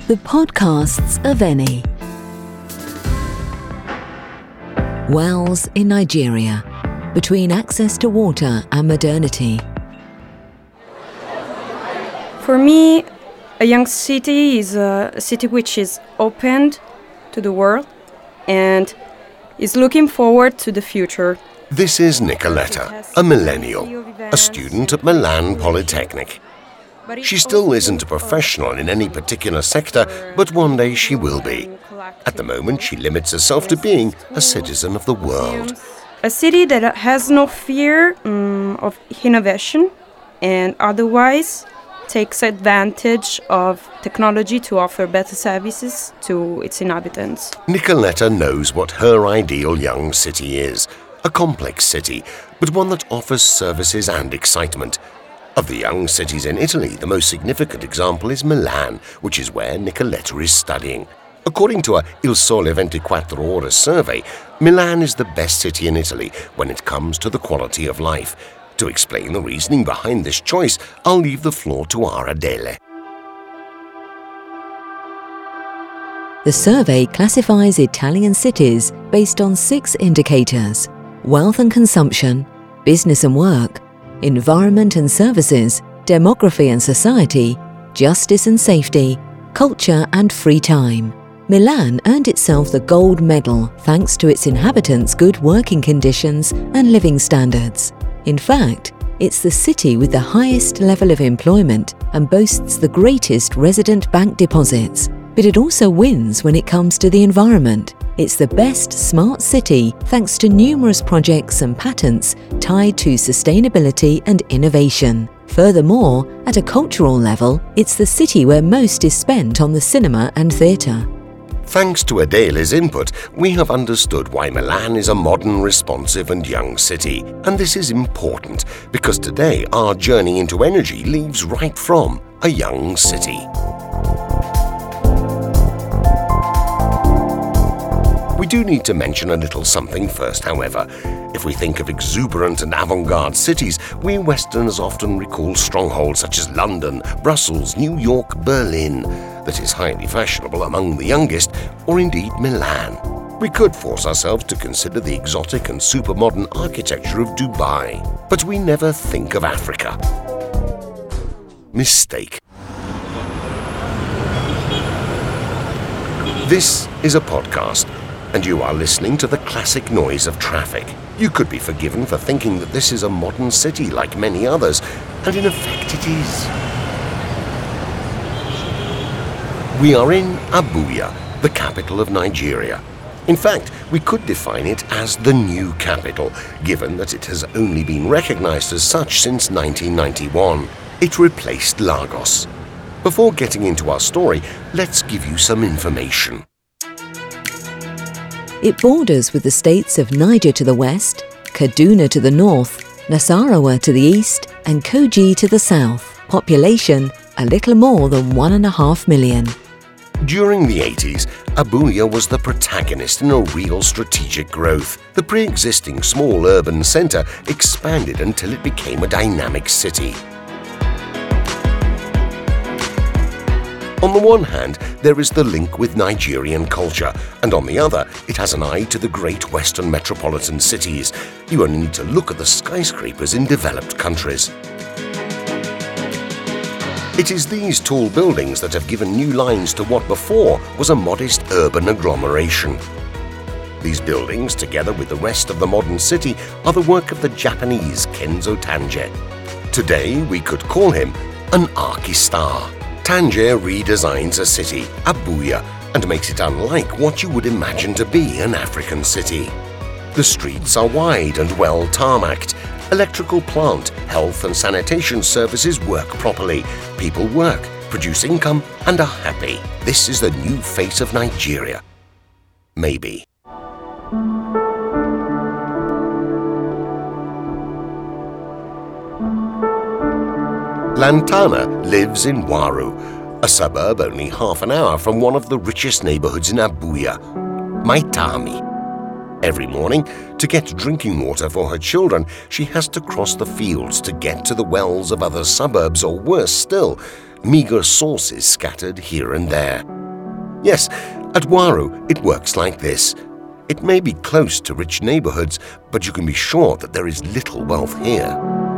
The podcasts of Eni. Wells in Nigeria, between access to water and modernity. For me, a young city is a city which is opened to the world and is looking forward to the future. This is Nicoletta, a millennial, a student at Milan Polytechnic. She still isn't a professional in any particular sector, but one day she will be. At the moment, she limits herself to being a citizen of the world. A city that has no fear of innovation and otherwise takes advantage of technology to offer better services to its inhabitants. Nicoletta knows what her ideal young city is. A complex city, but one that offers services and excitement. Of the young cities in Italy, the most significant example is Milan, which is where Nicoletta is studying. According to a Il Sole 24 Ore survey, Milan is the best city in Italy when it comes to the quality of life. To explain the reasoning behind this choice, I'll leave the floor to our Adele. The survey classifies Italian cities based on 6 indicators: wealth and consumption, business and work, environment and services, demography and society, justice and safety, culture and free time. Milan earned itself the gold medal thanks to its inhabitants' good working conditions and living standards. In fact, it's the city with the highest level of employment and boasts the greatest resident bank deposits. But it also wins when it comes to the environment. It's the best smart city thanks to numerous projects and patents tied to sustainability and innovation. Furthermore, at a cultural level, it's the city where most is spent on the cinema and theatre. Thanks to Adele's input, we have understood why Milan is a modern, responsive and young city. And this is important because today our journey into energy leaves right from a young city. We do need to mention a little something first, however. If we think of exuberant and avant-garde cities, we Westerners often recall strongholds such as London, Brussels, New York, Berlin, that is highly fashionable among the youngest, or indeed Milan. We could force ourselves to consider the exotic and super-modern architecture of Dubai, but we never think of Africa. Mistake. This is a podcast, and you are listening to the classic noise of traffic. You could be forgiven for thinking that this is a modern city like many others, and in effect it is. We are in Abuja, the capital of Nigeria. In fact, we could define it as the new capital, given that it has only been recognized as such since 1991. It replaced Lagos. Before getting into our story, let's give you some information. It borders with the states of Niger to the west, Kaduna to the north, Nasarawa to the east, and Kogi to the south. Population, a little more than 1.5 million. During the 80s, Abuja was the protagonist in a real strategic growth. The pre-existing small urban centre expanded until it became a dynamic city. On the one hand, there is the link with Nigerian culture, and on the other, it has an eye to the great Western metropolitan cities. You only need to look at the skyscrapers in developed countries. It is these tall buildings that have given new lines to what before was a modest urban agglomeration. These buildings, together with the rest of the modern city, are the work of the Japanese Kenzo Tange. Today, we could call him an archistar. Tange redesigns a city, Abuja, and makes it unlike what you would imagine to be an African city. The streets are wide and well tarmacked. Electrical plant, health and sanitation services work properly. People work, produce income, and are happy. This is the new face of Nigeria. Maybe. Lantana lives in Waru, a suburb only half an hour from one of the richest neighborhoods in Abuja, Maitama. Every morning, to get drinking water for her children, she has to cross the fields to get to the wells of other suburbs, or worse still, meager sources scattered here and there. Yes, at Waru it works like this. It may be close to rich neighborhoods, but you can be sure that there is little wealth here.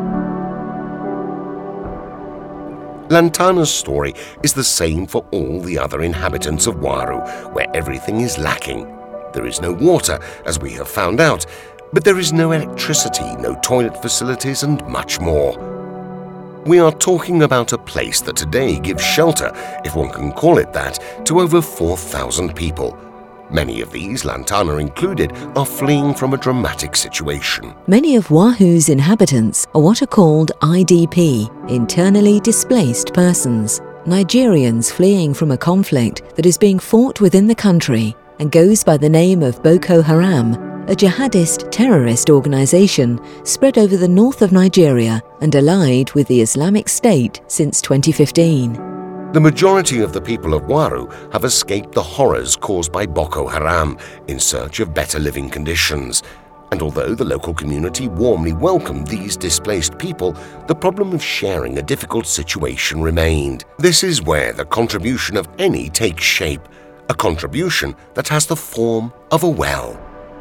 Lantana's story is the same for all the other inhabitants of Waru, where everything is lacking. There is no water, as we have found out, but there is no electricity, no toilet facilities, and much more. We are talking about a place that today gives shelter, if one can call it that, to over 4,000 people. Many of these, Lantana included, are fleeing from a dramatic situation. Many of Wahu's inhabitants are what are called IDP, internally displaced persons, Nigerians fleeing from a conflict that is being fought within the country and goes by the name of Boko Haram, a jihadist terrorist organization spread over the north of Nigeria and allied with the Islamic State since 2015. The majority of the people of Waru have escaped the horrors caused by Boko Haram in search of better living conditions. And although the local community warmly welcomed these displaced people, the problem of sharing a difficult situation remained. This is where the contribution of any takes shape, a contribution that has the form of a well.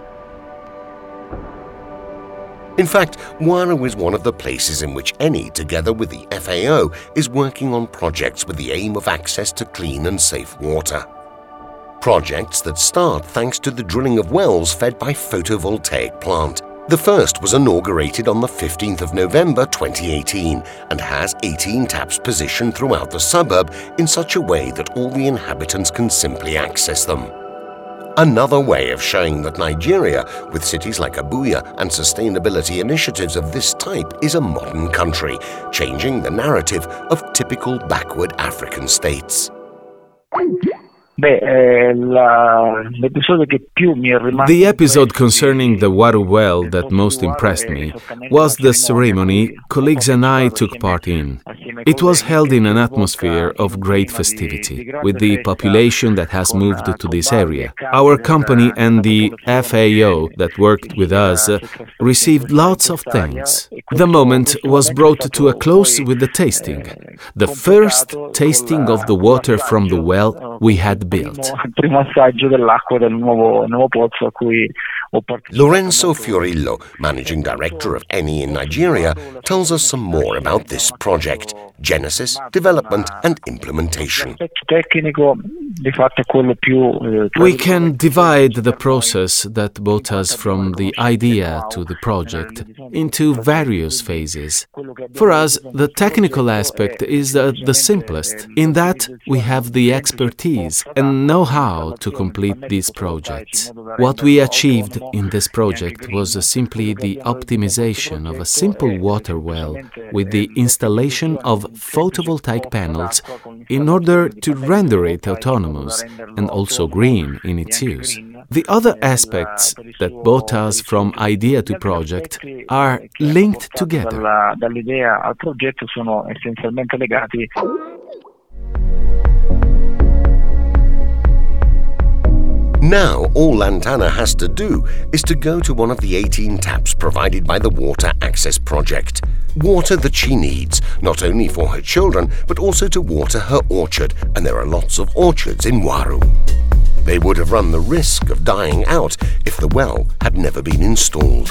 In fact, Waru is one of the places in which Eni, together with the FAO, is working on projects with the aim of access to clean and safe water. Projects that start thanks to the drilling of wells fed by photovoltaic plant. The first was inaugurated on the 15th of November 2018 and has 18 taps positioned throughout the suburb in such a way that all the inhabitants can simply access them. Another way of showing that Nigeria, with cities like Abuja and sustainability initiatives of this type, is a modern country, changing the narrative of typical backward African states. The episode concerning the Waru well that most impressed me was the ceremony colleagues and I took part in. It was held in an atmosphere of great festivity, with the population that has moved to this area. Our company and the FAO that worked with us received lots of thanks. The moment was brought to a close with the tasting, the first tasting of the water from the well we had built. Lorenzo Fiorillo, managing director of Eni in Nigeria, tells us some more about this project, genesis, development and implementation. We can divide the process that brought us from the idea to the project into various phases. For us, the technical aspect is the simplest, in that we have the expertise and know-how to complete these projects. What we achieved in this project was simply the optimization of a simple water well with the installation of photovoltaic panels in order to render it autonomous and also green in its use. The other aspects that brought us from idea to project are linked together. Now, all Lantana has to do is to go to one of the 18 taps provided by the Water Access Project. Water that she needs, not only for her children, but also to water her orchard, and there are lots of orchards in Waru. They would have run the risk of dying out if the well had never been installed.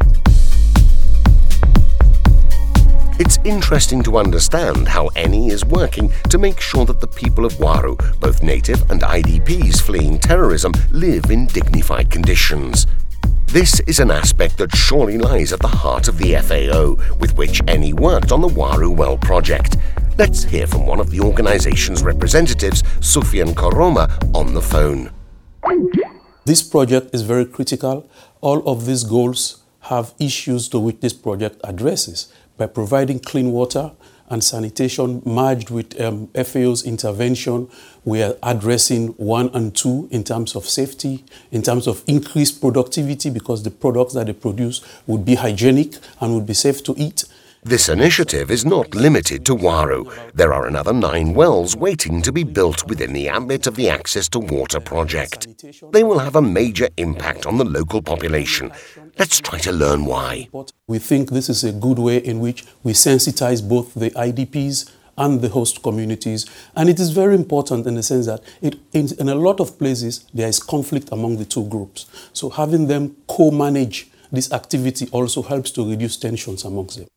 It's interesting to understand how Eni is working to make sure that the people of Waru, both native and IDPs fleeing terrorism, live in dignified conditions. This is an aspect that surely lies at the heart of the FAO, with which Eni worked on the Waru Well project. Let's hear from one of the organization's representatives, Sufyan Koroma, on the phone. This project is very critical. All of these goals have issues to which this project addresses. By providing clean water and sanitation merged with FAO's intervention, we are addressing 1 and 2 in terms of safety, in terms of increased productivity, because the products that they produce would be hygienic and would be safe to eat. This initiative is not limited to Waru. There are another 9 wells waiting to be built within the ambit of the Access to Water project. They will have a major impact on the local population. Let's try to learn why. We think this is a good way in which we sensitize both the IDPs and the host communities. And it is very important in the sense that in a lot of places there is conflict among the two groups. So having them co-manage this activity also helps to reduce tensions amongst them.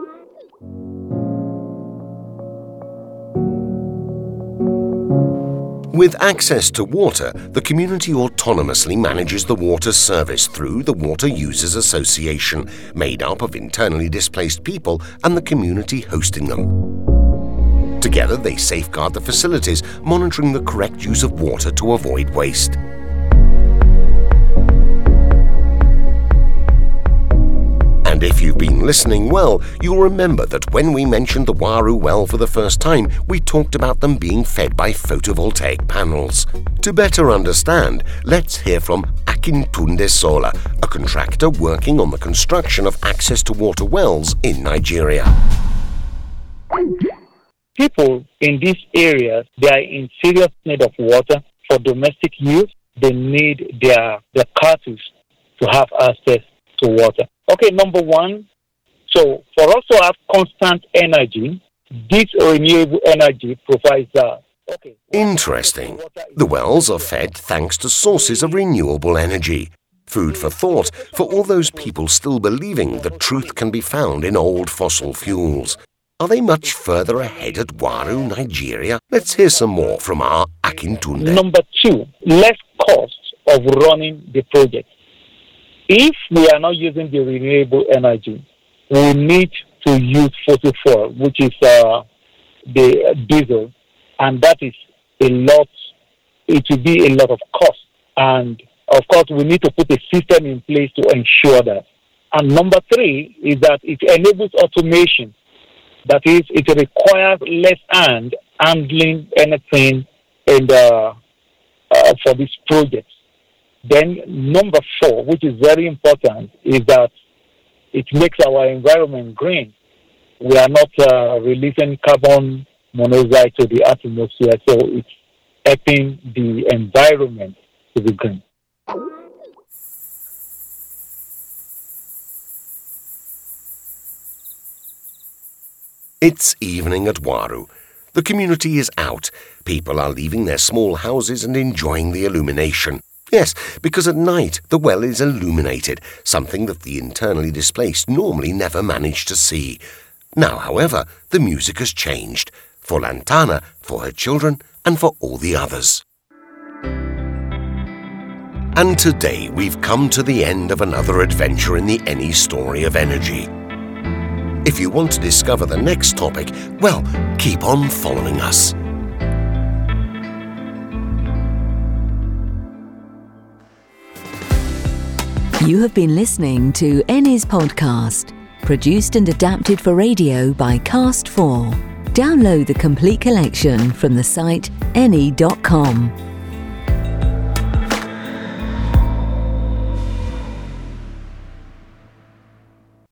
With access to water, the community autonomously manages the water service through the Water Users Association, made up of internally displaced people and the community hosting them. Together, they safeguard the facilities, monitoring the correct use of water to avoid waste. And if you've been listening well, you'll remember that when we mentioned the Waru well for the first time, we talked about them being fed by photovoltaic panels. To better understand, let's hear from Akintunde Sola, a contractor working on the construction of access to water wells in Nigeria. People in these areas, they are in serious need of water for domestic use. They need their cattle to have access to water. Okay, number one, so for us to have constant energy, this renewable energy provides that. Okay. Interesting. The wells are fed thanks to sources of renewable energy. Food for thought for all those people still believing that truth can be found in old fossil fuels. Are they much further ahead at Waru, Nigeria? Let's hear some more from our Akintunde. Number two, less cost of running the project. If we are not using the renewable energy, we need to use fossil fuel, which is the diesel, and that is a lot. It will be a lot of cost, and of course, we need to put a system in place to ensure that. And number three is that it enables automation. That is, it requires less hand handling anything for this project. Then number four, which is very important, is that it makes our environment green. We are not releasing carbon monoxide to the atmosphere, so it's helping the environment to be green. It's evening at Waru. The community is out. People are leaving their small houses and enjoying the illumination. Yes, because at night the well is illuminated, something that the internally displaced normally never manage to see. Now, however, the music has changed. For Lantana, for her children, and for all the others. And today we've come to the end of another adventure in the Eni story of energy. If you want to discover the next topic, well, keep on following us. You have been listening to Eni's podcast, produced and adapted for radio by Cast4. Download the complete collection from the site eni.com.